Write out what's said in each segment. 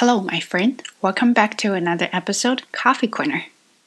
Hello, my friend. Welcome back to another episode, Coffee Corner.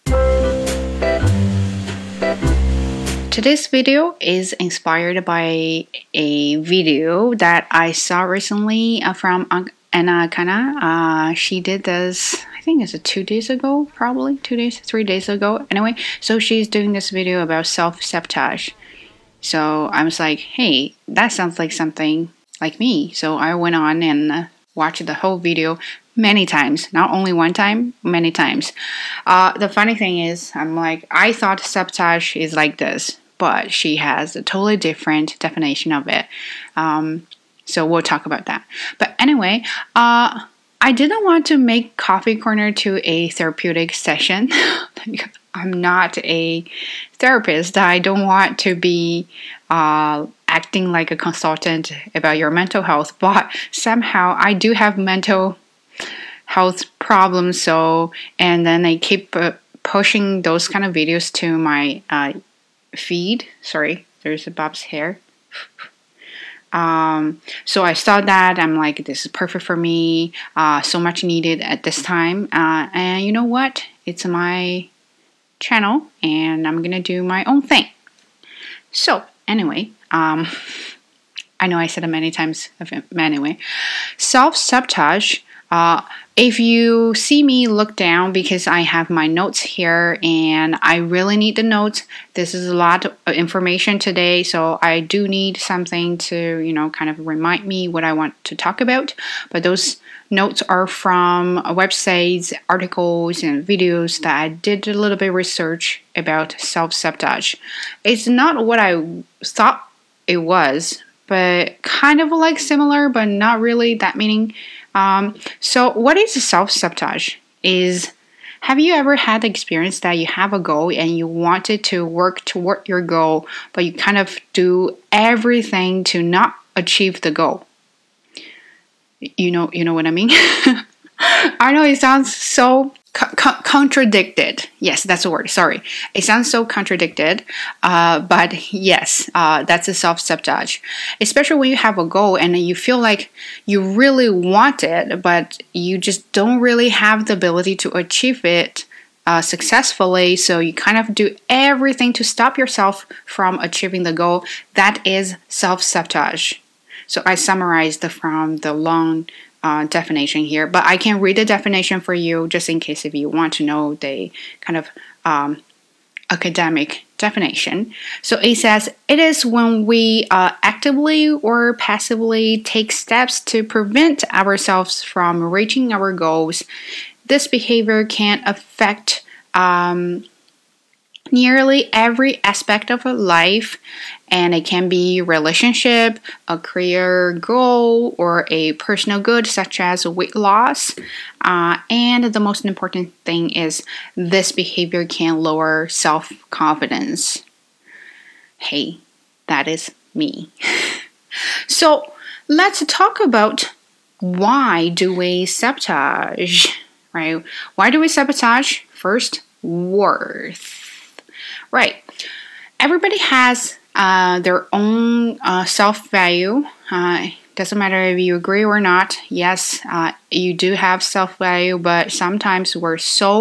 Today's video is inspired by a video that I saw recently from Anna Akana. She did this, I think it's 2 days ago, probably 3 days ago. Anyway, so she's doing this video about self-sabotage. So I was like, hey, that sounds like something like me. So I went on and watched the whole video many times, not only one time, many times. The funny thing is, I thought sabotage is like this, but she has a totally different definition of it. So we'll talk about that. But anyway, I didn't want to make Coffee Corner to a therapeutic session. I'm not a therapist. I don't want to be acting like a consultant about your mental health, but somehow I do have mental health problems. And then I keep pushing those kind of videos to my feed. Sorry, there's Bob's hair. So I saw that. I'm like, this is perfect for me. So much needed at this time. And you know what? It's my channel, and I'm gonna do my own thing. So anyway, I know I said it many times, but anyway, self-sabotage. If you see me look down, because I have my notes here and I really need the notes. This is a lot of information today, so I do need something to, kind of remind me what I want to talk about. But those notes are from websites, articles, and videos that I did a little bit of research about self-sabotage. It's not what I thought it was, but kind of like similar, but not really that meaning. So what is self-sabotage? Have you ever had the experience that you have a goal and you wanted to work toward your goal, but you kind of do everything to not achieve the goal? You know what I mean? I know it sounds so contradicted. Yes, that's the word. Sorry. It sounds so contradicted. But yes, that's a self-sabotage. Especially when you have a goal and you feel like you really want it, but you just don't really have the ability to achieve it successfully. So you kind of do everything to stop yourself from achieving the goal. That is self-sabotage. So I summarized from the long definition here, but I can read the definition for you just in case if you want to know the kind of academic definition. So it says, it is when we actively or passively take steps to prevent ourselves from reaching our goals. This behavior can affect nearly every aspect of life, and it can be relationship, a career goal, or a personal good such as weight loss. And the most important thing is this behavior can lower self-confidence. Hey, that is me. So let's talk about why do we sabotage, right? Why do we sabotage? First, worth. Right. Everybody has their own self-value. Doesn't matter if you agree or not. Yes, you do have self-value, but sometimes we're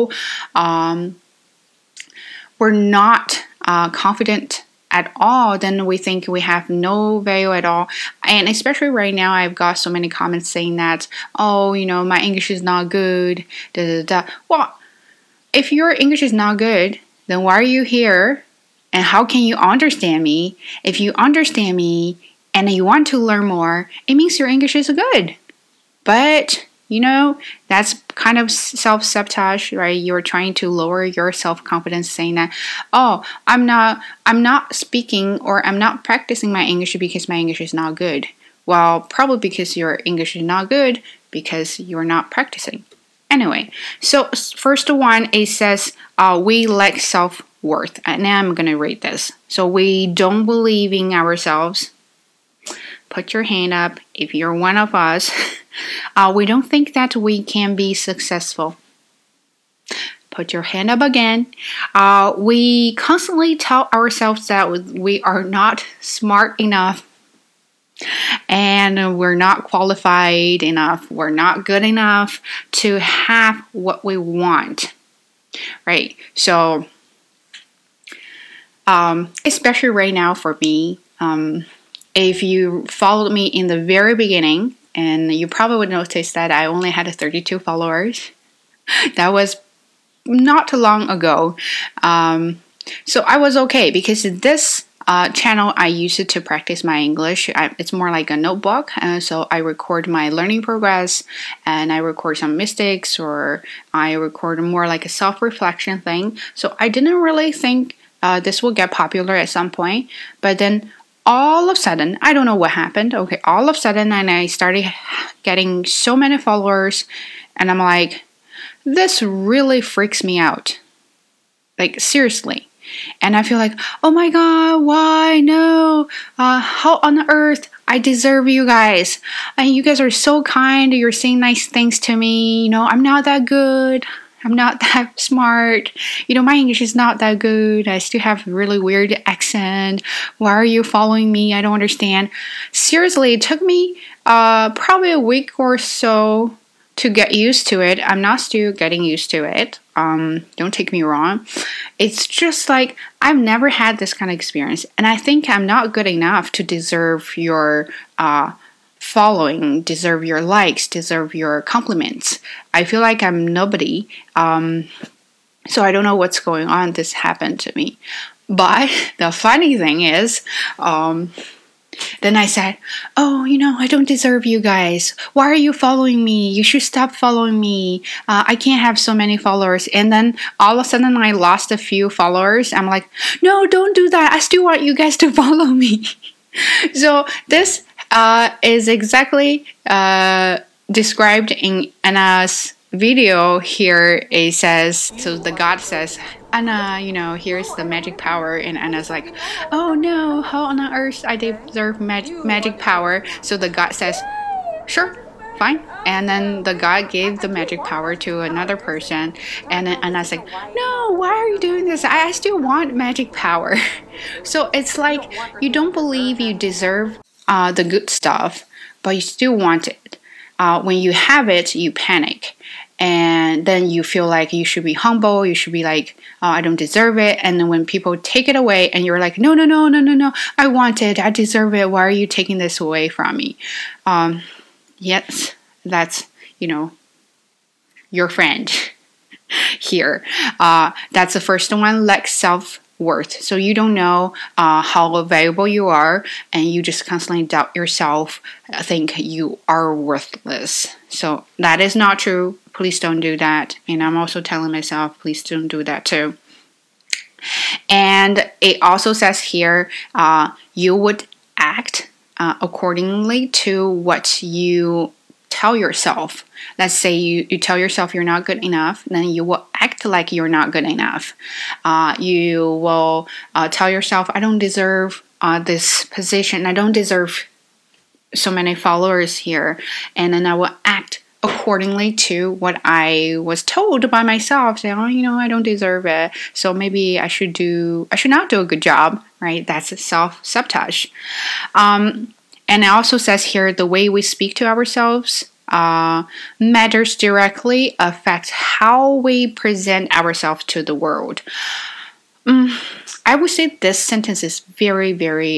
not confident at all. Then we think we have no value at all. And especially right now, I've got so many comments saying that, my English is not good. Well, if your English is not good, then why are you here? And how can you understand me? If you understand me and you want to learn more, it means your English is good. But, that's kind of self-sabotage, right? You're trying to lower your self-confidence saying that, I'm not speaking or I'm not practicing my English because my English is not good. Well, probably because your English is not good because you're not practicing. Anyway, so first one, it says we lack self-worth. And now I'm going to read this. So we don't believe in ourselves. Put your hand up if you're one of us. We don't think that we can be successful. Put your hand up again. We constantly tell ourselves that we are not smart enough. And we're not qualified enough, we're not good enough to have what we want, right? So especially right now for me, if you followed me in the very beginning, and you probably would notice that I only had 32 followers. That was not too long ago. So I was okay because this channel I use it to practice my English. It's more like a notebook. So I record my learning progress, and I record some mistakes, or I record more like a self-reflection thing. So I didn't really think this will get popular at some point. But then all of a sudden, I don't know what happened. Okay, all of a sudden, and I started getting so many followers, and I'm like, this really freaks me out. Like, seriously. And I feel like, oh my God, why? No. How on earth? I deserve you guys. And you guys are so kind. You're saying nice things to me. You know, I'm not that good. I'm not that smart. You know, my English is not that good. I still have really weird accent. Why are you following me? I don't understand. Seriously, it took me probably a week or so to get used to it. I'm not still getting used to it. Don't take me wrong. It's just like I've never had this kind of experience, and I think I'm not good enough to deserve your following, deserve your likes, deserve your compliments. I feel like I'm nobody. So I don't know what's going on. This happened to me. But the funny thing is, then I said, oh, you know, I don't deserve you guys. Why are you following me? You should stop following me. I can't have so many followers. And then all of a sudden I lost a few followers. I'm like, no, don't do that. I still want you guys to follow me. So this is exactly described in Anna's video here. It says, so the God says, Anna, you know, here's the magic power. And Anna's like, oh no, how on earth I deserve magic power? So the God says, sure, fine. And then the God gave the magic power to another person. And then Anna's like, no, why are you doing this? I still want magic power. So it's like you don't believe you deserve the good stuff, but you still want it. When you have it, you panic. And then you feel like you should be humble. You should be like, oh, I don't deserve it. And then when people take it away and you're like, no, I want it. I deserve it. Why are you taking this away from me? Yes, that's, you know, your friend here. That's the first one, like self-worth. So you don't know how valuable you are, and you just constantly doubt yourself, think you are worthless. So that is not true. Please don't do that. And I'm also telling myself, please don't do that too. And it also says here, you would act accordingly to what you tell yourself. Let's say you tell yourself you're not good enough, then you will act like you're not good enough. You will tell yourself, I don't deserve this position. I don't deserve so many followers here. And then I will act accordingly to what I was told by myself, saying, oh, you know, I don't deserve it. So maybe I should not do a good job, right? That's self-sabotage. And it also says here, the way we speak to ourselves matters directly, affects how we present ourselves to the world. I would say this sentence is very, very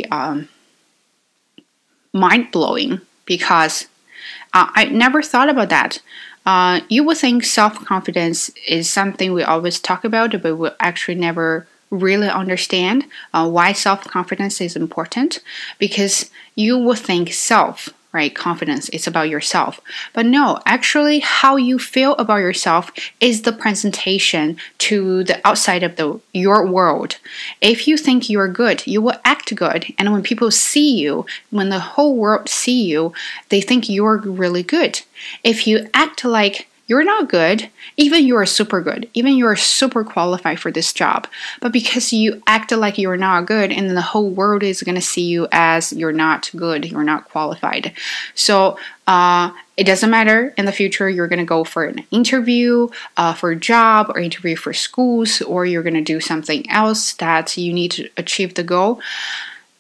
mind-blowing, because I never thought about that. You would think self-confidence is something we always talk about, but we actually never really understand why self-confidence is important, because you would think self, right? Confidence, it's about yourself. But no, actually how you feel about yourself is the presentation to the outside of your world. If you think you're good, you will act good. And when people see you, when the whole world see you, they think you're really good. If you act like you're not good, even you're super good, even you're super qualified for this job, but because you act like you're not good, and then the whole world is going to see you as you're not good, you're not qualified. So it doesn't matter in the future, you're going to go for an interview for a job, or interview for schools, or you're going to do something else that you need to achieve the goal.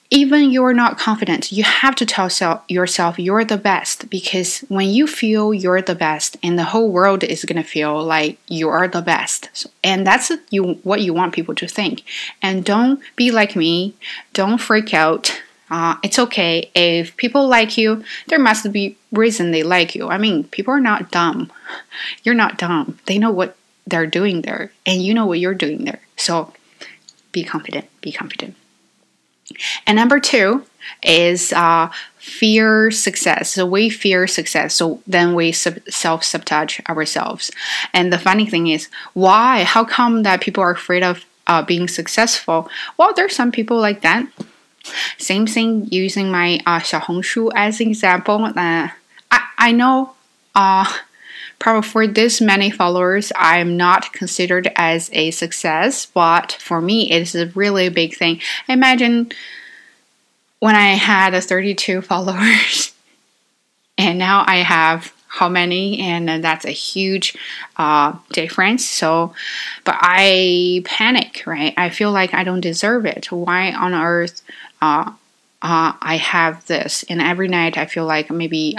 even you're not confident, you have to tell yourself you're the best, because when you feel you're the best, and the whole world is going to feel like you are the best. And that's what you want people to think. And don't be like me. Don't freak out. It's okay. If people like you, there must be reason they like you. I mean, people are not dumb. You're not dumb. They know what they're doing there, and you know what you're doing there. So be confident. Be confident. And number 2 is fear success. So we fear success. So then we self-sabotage ourselves. And the funny thing is, why? How come that people are afraid of being successful? Well, there's some people like that. Same thing using my 小红书 as an example. I know probably for this many followers, I'm not considered as a success, but for me, it's a really big thing. Imagine when I had 32 followers, and now I have how many? And that's a huge difference. So, but I panic, right? I feel like I don't deserve it. Why on earth I have this? And every night I feel like maybe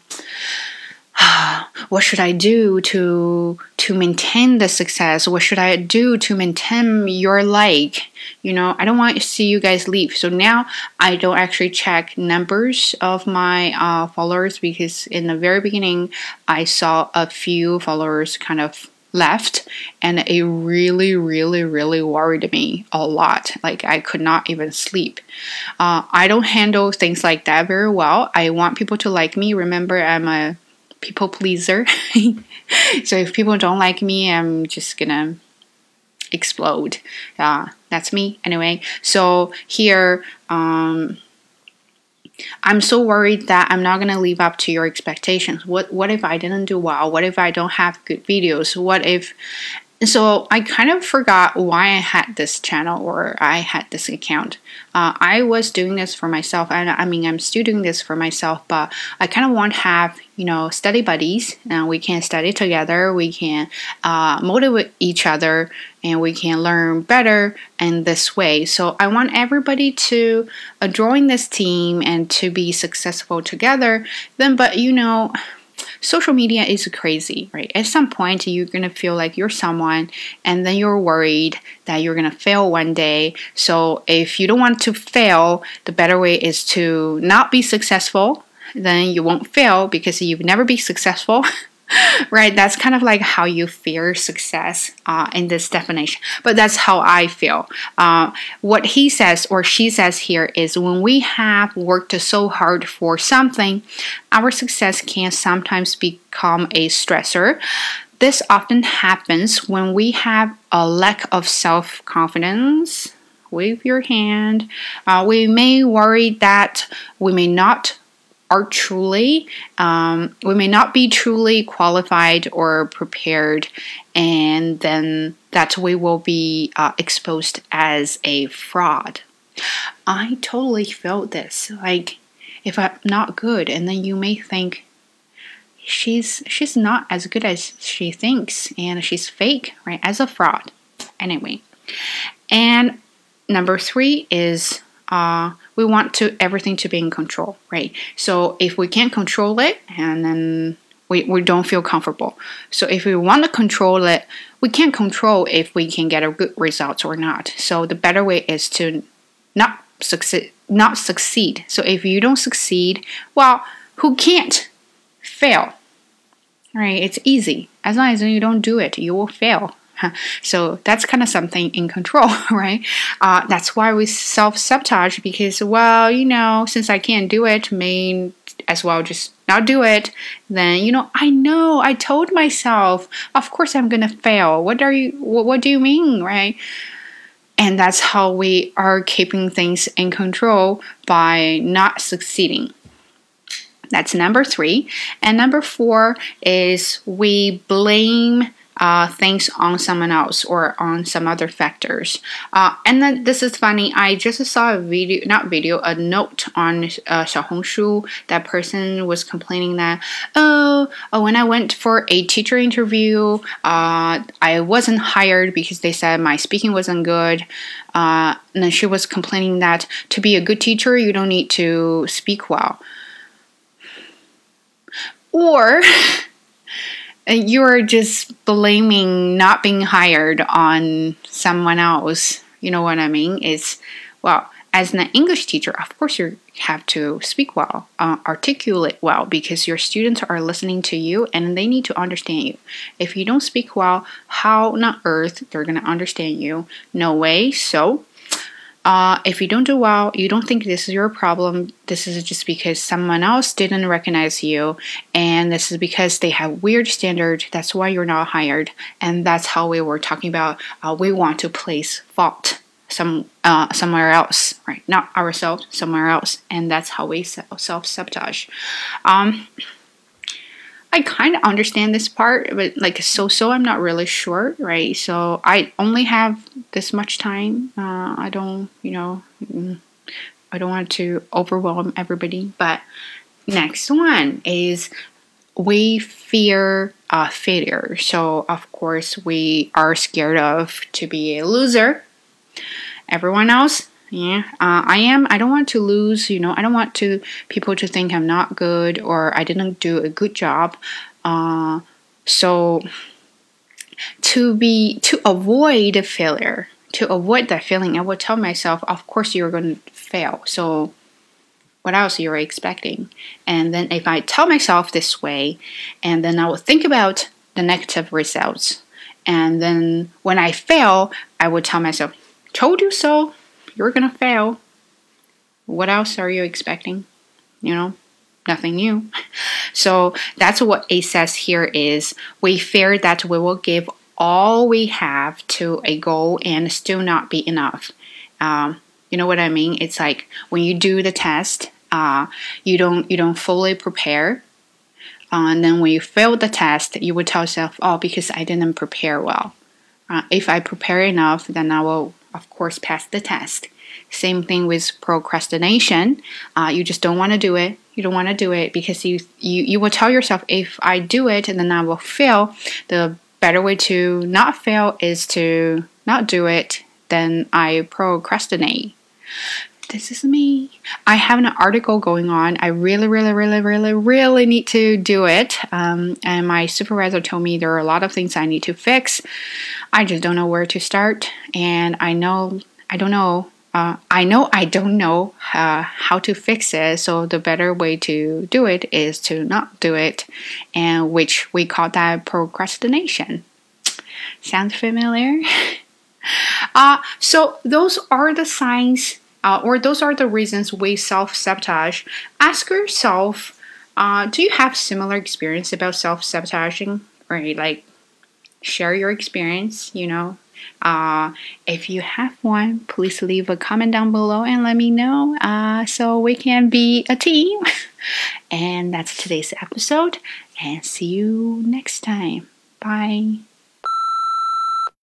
what should I do to maintain the success? What should I do to maintain your like? You know, I don't want to see you guys leave. So now I don't actually check numbers of my followers, because in the very beginning I saw a few followers kind of left, and it really worried me a lot. Like I could not even sleep. I don't handle things like that very well. I want people to like me. Remember, I'm a people pleaser. So if people don't like me, I'm just gonna explode. That's me anyway. So here, I'm so worried that I'm not gonna live up to your expectations. What if I didn't do well? What if I don't have good videos? What if? So I kind of forgot why I had this channel, or I had this account. I was doing this for myself, and I mean, I'm still doing this for myself, but I kind of want to have, study buddies, and we can study together, we can motivate each other, and we can learn better in this way. So I want everybody to join this team and to be successful together. But social media is crazy, right? At some point, you're going to feel like you're someone, and then you're worried that you're going to fail one day. So if you don't want to fail, the better way is to not be successful. Then you won't fail, because you've never been successful. Right? That's kind of like how you fear success in this definition. But that's how I feel. What he says or she says here is, when we have worked so hard for something, our success can sometimes become a stressor. This often happens when we have a lack of self-confidence. Wave your hand. We may worry that we may not be truly qualified or prepared, and then that we will be exposed as a fraud. I totally felt this. Like, if I'm not good, and then you may think she's not as good as she thinks, and she's fake, right? As a fraud. Anyway, and number 3 is we want everything to be in control, right? So if we can't control it, and then we don't feel comfortable. So if we want to control it, we can't control if we can get a good result or not. So the better way is to not succeed. So if you don't succeed, well, who can't fail? Right? It's easy. As long as you don't do it, you will fail. So that's kind of something in control, right? That's why we self-sabotage, because, since I can't do it, may as well just not do it. Then, I told myself, of course I'm going to fail. What do you mean, right? And that's how we are keeping things in control, by not succeeding. That's number 3. And number 4 is we blame things on someone else or on some other factors. And then this is funny. I just saw a note on Xiaohongshu. That person was complaining that, when I went for a teacher interview, I wasn't hired because they said my speaking wasn't good. And then she was complaining that to be a good teacher, you don't need to speak well. Or you're just blaming not being hired on someone else. You know what I mean? As an English teacher, of course you have to speak well, articulate well, because your students are listening to you and they need to understand you. If you don't speak well, how on earth they're going to understand you? No way. So if you don't do well, you don't think this is your problem. This is just because someone else didn't recognize you, and this is because they have weird standards. That's why you're not hired. And that's how we were talking about. We want to place fault somewhere else, right? Not ourselves, somewhere else, and that's how we self-sabotage. I kind of understand this part, but so I'm not really sure, right? So I only have this much time. I don't want to overwhelm everybody. But next one is we fear failure. So of course we are scared of to be a loser. Everyone else, I am. I don't want to lose, I don't want people to think I'm not good or I didn't do a good job. So to avoid failure, to avoid that feeling, I would tell myself, of course you're going to fail. So what else you're expecting? And then if I tell myself this way, and then I will think about the negative results. And then when I fail, I would tell myself, told you so. You're gonna fail. What else are you expecting? Nothing new. So that's what it says here is we fear that we will give all we have to a goal and still not be enough. You know what I mean? It's like when you do the test, you don't fully prepare. And then when you fail the test, you would tell yourself, because I didn't prepare well. If I prepare enough, then I will, of course, pass the test. Same thing with procrastination. You just don't want to do it. You don't want to do it because you will tell yourself, if I do it, then I will fail. The better way to not fail is to not do it. Then I procrastinate. This is me. I have an article going on. I really, really, really, really, really need to do it. And my supervisor told me there are a lot of things I need to fix. I just don't know where to start. And I don't know how to fix it. So the better way to do it is to not do it, and which we call that procrastination. Sounds familiar? So those are the signs. Or those are the reasons we self-sabotage. Ask yourself, do you have similar experience about self-sabotaging? Or share your experience, If you have one, please leave a comment down below and let me know so we can be a team. And that's today's episode. And see you next time. Bye.